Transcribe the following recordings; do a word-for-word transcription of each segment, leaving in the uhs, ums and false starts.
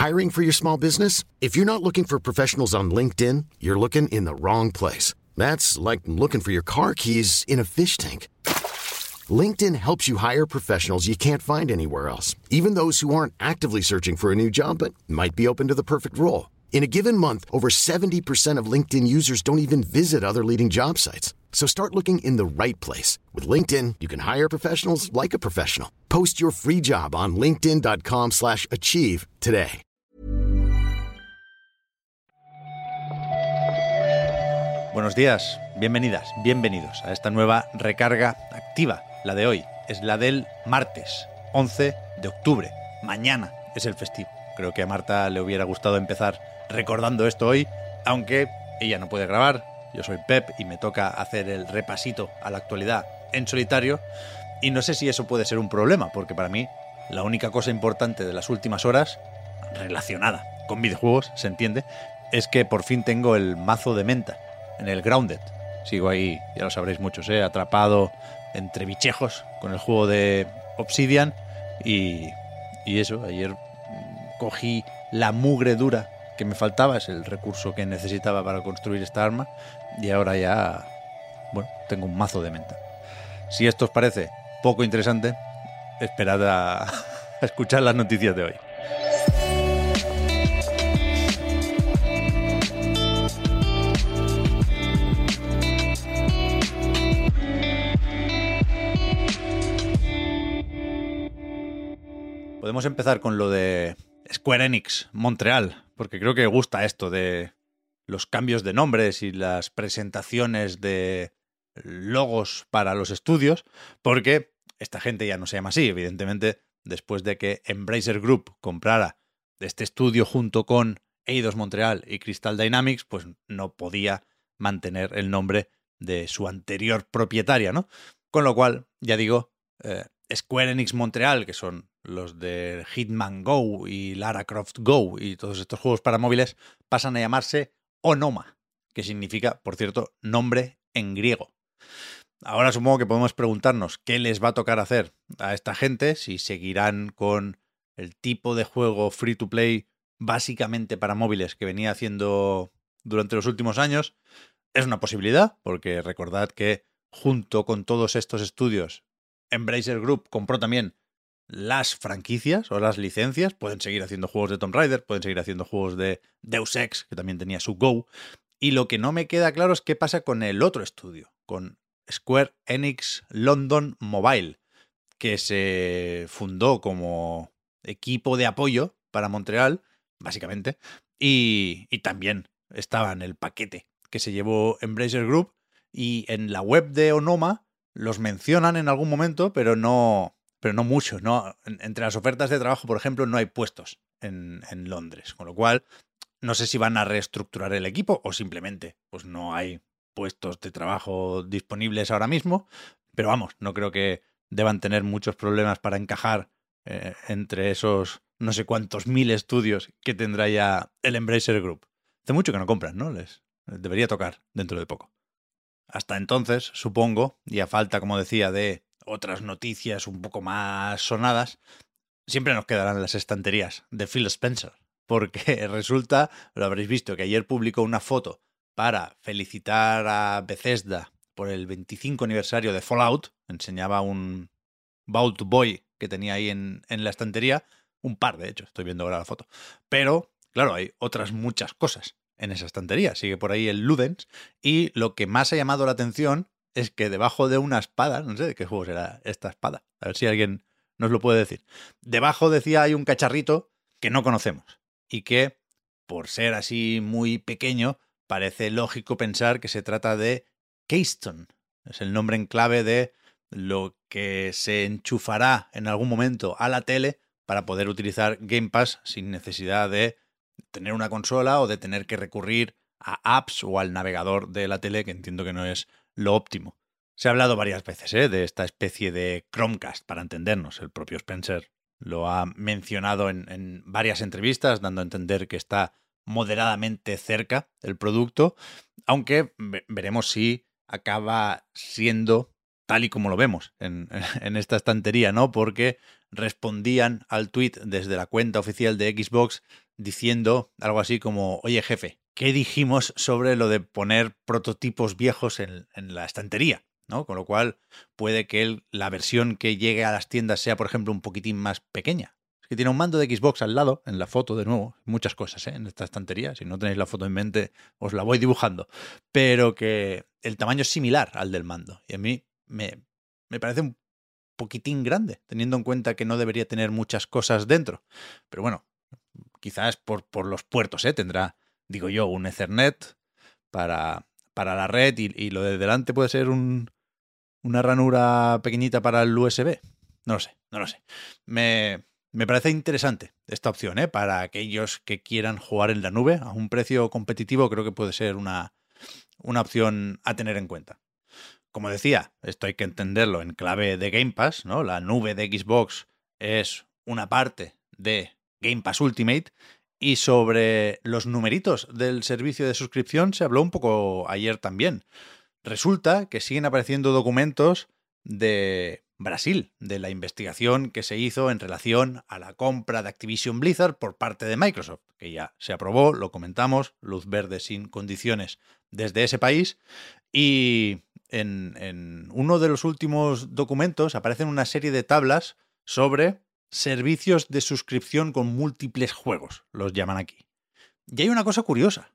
Hiring for your small business? If you're not looking for professionals on LinkedIn, you're looking in the wrong place. That's like looking for your car keys in a fish tank. LinkedIn helps you hire professionals you can't find anywhere else, even those who aren't actively searching for a new job but might be open to the perfect role. In a given month, over seventy percent of LinkedIn users don't even visit other leading job sites. So start looking in the right place. With LinkedIn, you can hire professionals like a professional. Post your free job on linkedin dot com slash achieve today. Buenos días, bienvenidas, bienvenidos a esta nueva recarga activa. La de hoy es la del martes, once de octubre. Mañana es el festivo. Creo que a Marta le hubiera gustado empezar recordando esto hoy, aunque ella no puede grabar. Yo soy Pep y me toca hacer el repasito a la actualidad en solitario. Y no sé si eso puede ser un problema, porque para mí la única cosa importante de las últimas horas, relacionada con videojuegos, se entiende, es que por fin tengo el mazo de menta en el Grounded. Sigo ahí, ya lo sabréis muchos, ¿eh? atrapado entre bichejos con el juego de Obsidian y, y eso, ayer cogí la mugre dura que me faltaba, es el recurso que necesitaba para construir esta arma, y ahora ya, bueno, tengo un mazo de menta. Si esto os parece poco interesante, esperad a, a escuchar las noticias de hoy. Podemos empezar con lo de Square Enix Montreal, porque creo que gusta esto de los cambios de nombres y las presentaciones de logos para los estudios, porque esta gente ya no se llama así, evidentemente, después de que Embracer Group comprara este estudio junto con Eidos Montreal y Crystal Dynamics, pues no podía mantener el nombre de su anterior propietaria, ¿no? Con lo cual, ya digo, eh, Square Enix Montreal, que son los de Hitman Go y Lara Croft Go y todos estos juegos para móviles, pasan a llamarse Onoma, que significa, por cierto, nombre en griego. Ahora supongo que podemos preguntarnos qué les va a tocar hacer a esta gente, si seguirán con el tipo de juego free to play básicamente para móviles que venía haciendo durante los últimos años. Es una posibilidad, porque recordad que junto con todos estos estudios, Embracer Group compró también las franquicias o las licencias. Pueden seguir haciendo juegos de Tomb Raider, pueden seguir haciendo juegos de Deus Ex, que también tenía su Go. Y lo que no me queda claro es qué pasa con el otro estudio, con Square Enix London Mobile, que se fundó como equipo de apoyo para Montreal, básicamente, y, y también estaba en el paquete que se llevó Embracer Group, y en la web de Onoma los mencionan en algún momento, pero no, pero no mucho, ¿no? Entre las ofertas de trabajo, por ejemplo, no hay puestos en, en Londres, con lo cual no sé si van a reestructurar el equipo o simplemente pues no hay puestos de trabajo disponibles ahora mismo, pero vamos, no creo que deban tener muchos problemas para encajar eh, entre esos no sé cuántos mil estudios que tendrá ya el Embracer Group. Hace mucho que no compran, ¿no? Les, les debería tocar dentro de poco. Hasta entonces, supongo, y a falta, como decía, de otras noticias un poco más sonadas, siempre nos quedarán las estanterías de Phil Spencer, porque resulta, lo habréis visto, que ayer publicó una foto para felicitar a Bethesda por el veinticinco aniversario de Fallout. Enseñaba un Vault Boy que tenía ahí en, en la estantería, un par de hecho, estoy viendo ahora la foto, pero claro, hay otras muchas cosas en esa estantería. Sigue por ahí el Ludens, y lo que más ha llamado la atención es que debajo de una espada, no sé de qué juego será esta espada, a ver si alguien nos lo puede decir, debajo, decía, hay un cacharrito que no conocemos y que, por ser así muy pequeño, parece lógico pensar que se trata de Keystone. Es el nombre en clave de lo que se enchufará en algún momento a la tele para poder utilizar Game Pass sin necesidad de tener una consola o de tener que recurrir a apps o al navegador de la tele, que entiendo que no es lo óptimo. Se ha hablado varias veces ¿eh? de esta especie de Chromecast, para entendernos. El propio Spencer lo ha mencionado en, en varias entrevistas, dando a entender que está moderadamente cerca el producto, aunque veremos si acaba siendo tal y como lo vemos en, en esta estantería, ¿no? Porque respondían al tweet desde la cuenta oficial de Xbox diciendo algo así como, oye jefe, ¿qué dijimos sobre lo de poner prototipos viejos en, en la estantería? ¿No? Con lo cual puede que el, la versión que llegue a las tiendas sea, por ejemplo, un poquitín más pequeña. Es que tiene un mando de Xbox al lado, en la foto de nuevo, muchas cosas, ¿eh? En esta estantería. Si no tenéis la foto en mente, os la voy dibujando. Pero que el tamaño es similar al del mando. Y a mí me, me parece un poquitín grande, teniendo en cuenta que no debería tener muchas cosas dentro. Pero bueno, quizás por, por los puertos, ¿eh? Tendrá, digo yo, un Ethernet para, para la red y, y lo de delante puede ser un, una ranura pequeñita para el U S B. No lo sé, no lo sé. Me, me parece interesante esta opción, ¿eh? Para aquellos que quieran jugar en la nube a un precio competitivo, creo que puede ser una, una opción a tener en cuenta. Como decía, esto hay que entenderlo en clave de Game Pass, ¿no? La nube de Xbox es una parte de Game Pass Ultimate. Y sobre los numeritos del servicio de suscripción se habló un poco ayer también. Resulta que siguen apareciendo documentos de Brasil, de la investigación que se hizo en relación a la compra de Activision Blizzard por parte de Microsoft, que ya se aprobó, lo comentamos, luz verde sin condiciones desde ese país. Y en, en uno de los últimos documentos aparecen una serie de tablas sobre servicios de suscripción con múltiples juegos, los llaman aquí. Y hay una cosa curiosa,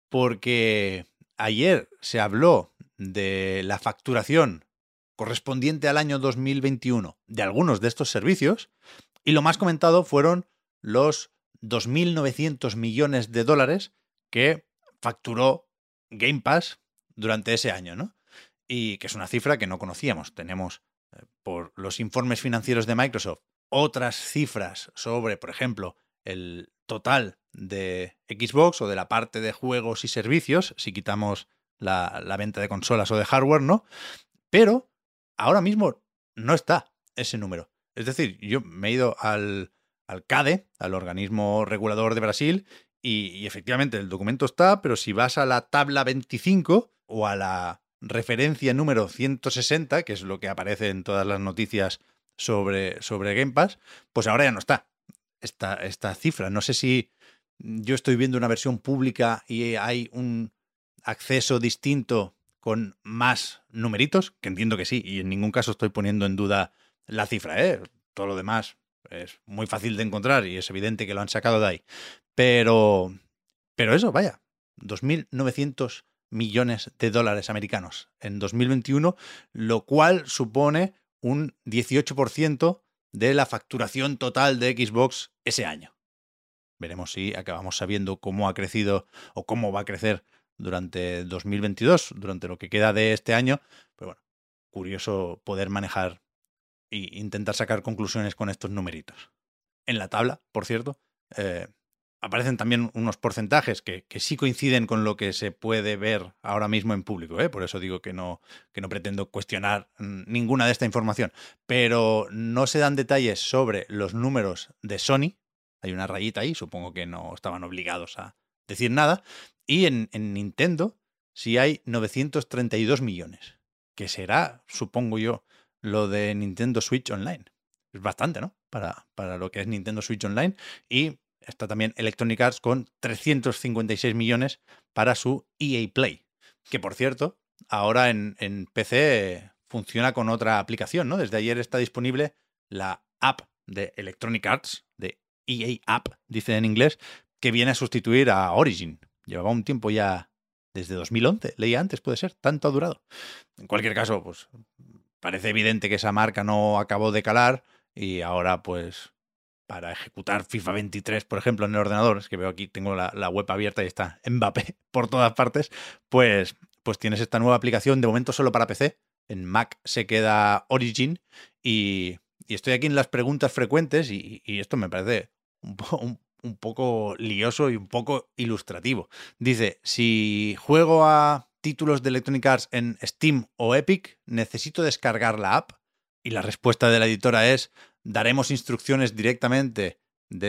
porque ayer se habló de la facturación correspondiente al año dos mil veintiuno de algunos de estos servicios y lo más comentado fueron los dos mil novecientos millones de dólares que facturó Game Pass durante ese año, ¿no? Y que es una cifra que no conocíamos. Tenemos, eh, por los informes financieros de Microsoft, otras cifras sobre, por ejemplo, el total de Xbox o de la parte de juegos y servicios, si quitamos la, la venta de consolas o de hardware, ¿no? Pero ahora mismo no está ese número. Es decir, yo me he ido al, al CADE, al organismo regulador de Brasil, y, y efectivamente el documento está, pero si vas a la tabla veinticinco o a la referencia número ciento sesenta, que es lo que aparece en todas las noticias sobre, sobre Game Pass, pues ahora ya no está esta, esta cifra. No sé si yo estoy viendo una versión pública y hay un acceso distinto con más numeritos, que entiendo que sí, y en ningún caso estoy poniendo en duda la cifra, ¿eh? Todo lo demás es muy fácil de encontrar y es evidente que lo han sacado de ahí. Pero, pero eso, vaya, dos mil novecientos millones de dólares americanos en dos mil veintiuno, lo cual supone un dieciocho por ciento de la facturación total de Xbox ese año. Veremos si acabamos sabiendo cómo ha crecido o cómo va a crecer durante dos mil veintidós, durante lo que queda de este año. Pero bueno, curioso poder manejar e intentar sacar conclusiones con estos numeritos. En la tabla, por cierto, eh, aparecen también unos porcentajes que, que sí coinciden con lo que se puede ver ahora mismo en público, ¿eh? Por eso digo que no, que no pretendo cuestionar ninguna de esta información. Pero no se dan detalles sobre los números de Sony. Hay una rayita ahí, supongo que no estaban obligados a decir nada. Y en, en Nintendo sí hay novecientos treinta y dos millones, que será, supongo yo, lo de Nintendo Switch Online. Es bastante, ¿no? Para, para lo que es Nintendo Switch Online. Y está también Electronic Arts con trescientos cincuenta y seis millones para su E A Play. Que, por cierto, ahora en, en P C funciona con otra aplicación, ¿no? Desde ayer está disponible la app de Electronic Arts, de E A App, dice en inglés, que viene a sustituir a Origin. Llevaba un tiempo ya desde dos mil once, leía antes, puede ser, tanto ha durado. En cualquier caso, pues parece evidente que esa marca no acabó de calar y ahora, pues, para ejecutar FIFA veintitrés, por ejemplo, en el ordenador, es que veo aquí, tengo la, la web abierta y está Mbappé por todas partes, pues, pues tienes esta nueva aplicación, de momento solo para P C, en Mac se queda Origin y, y estoy aquí en las preguntas frecuentes y, y esto me parece un, po, un, un poco lioso y un poco ilustrativo. Dice, si juego a títulos de Electronic Arts en Steam o Epic, ¿necesito descargar la app? Y la respuesta de la editora es, daremos instrucciones directamente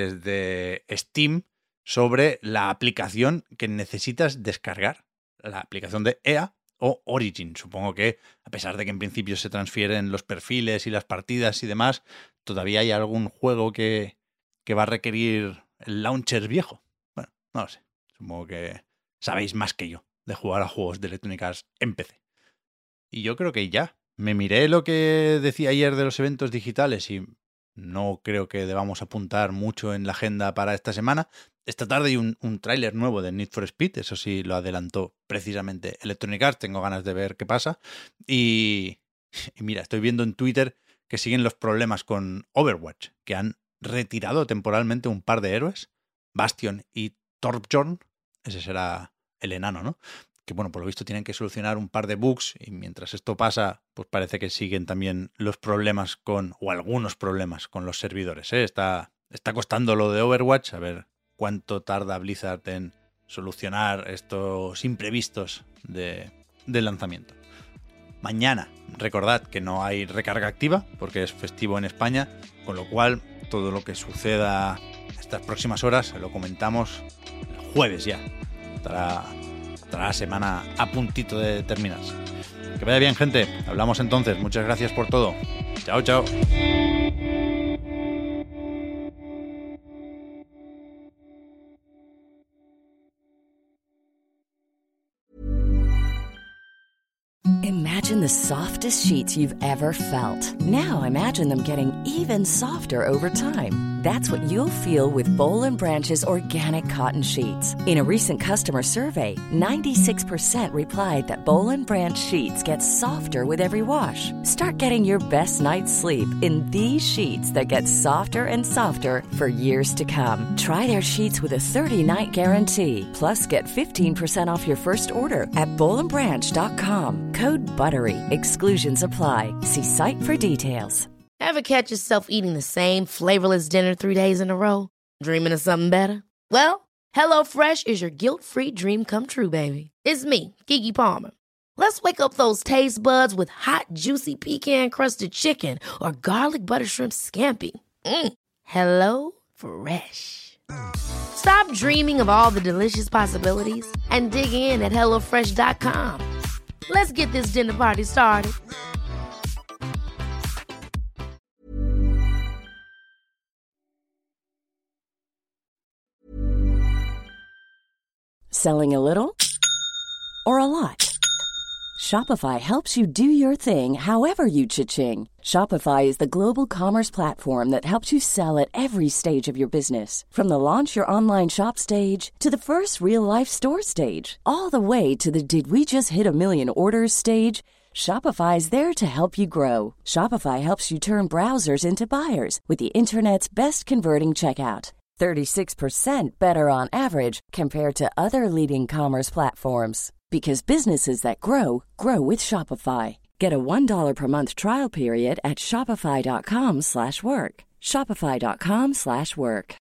desde Steam sobre la aplicación que necesitas descargar. La aplicación de E A o Origin. Supongo que, a pesar de que en principio se transfieren los perfiles y las partidas y demás, todavía hay algún juego que, que va a requerir el launcher viejo. Bueno, no lo sé. Supongo que sabéis más que yo de jugar a juegos de Electronic Arts en P C. Y yo creo que ya. Me miré lo que decía ayer de los eventos digitales y no creo que debamos apuntar mucho en la agenda para esta semana. Esta tarde hay un, un tráiler nuevo de Need for Speed, eso sí lo adelantó precisamente Electronic Arts, tengo ganas de ver qué pasa. Y, y mira, estoy viendo en Twitter que siguen los problemas con Overwatch, que han retirado temporalmente un par de héroes, Bastion y Torbjorn, ese será el enano, ¿no? Que bueno, por lo visto tienen que solucionar un par de bugs y mientras esto pasa, pues parece que siguen también los problemas con, o algunos problemas con los servidores, ¿eh? Está, está costando lo de Overwatch, a ver cuánto tarda Blizzard en solucionar estos imprevistos de, del lanzamiento. Mañana, recordad que no hay recarga activa porque es festivo en España, con lo cual todo lo que suceda estas próximas horas lo comentamos el jueves ya. Estará... Estará la semana a puntito de terminarse. Que vaya bien, gente. Hablamos entonces. Muchas gracias por todo. Chao, chao. Imagine the softest sheets you've ever felt. Now imagine them getting even softer over time. That's what you'll feel with Boll and Branch's organic cotton sheets. In a recent customer survey, ninety-six percent replied that Boll and Branch sheets get softer with every wash. Start getting your best night's sleep in these sheets that get softer and softer for years to come. Try their sheets with a thirty-night guarantee. Plus, get fifteen percent off your first order at boll and branch dot com. Code BUTTERY. Exclusions apply. See site for details. Ever catch yourself eating the same flavorless dinner three days in a row? Dreaming of something better? Well, HelloFresh is your guilt-free dream come true, baby. It's me, Keke Palmer. Let's wake up those taste buds with hot, juicy pecan-crusted chicken or garlic butter shrimp scampi. Mm. Hello Fresh. Stop dreaming of all the delicious possibilities and dig in at hello fresh dot com. Let's get this dinner party started. Selling a little or a lot? Shopify helps you do your thing however you cha-ching. Shopify is the global commerce platform that helps you sell at every stage of your business. From the launch your online shop stage to the first real-life store stage, all the way to the did we just hit a million orders stage. Shopify is there to help you grow. Shopify helps you turn browsers into buyers with the internet's best converting checkout. thirty-six percent better on average compared to other leading commerce platforms. Because businesses that grow, grow with Shopify. Get a one dollar per month trial period at shopify dot com slash work. shopify dot com slash work.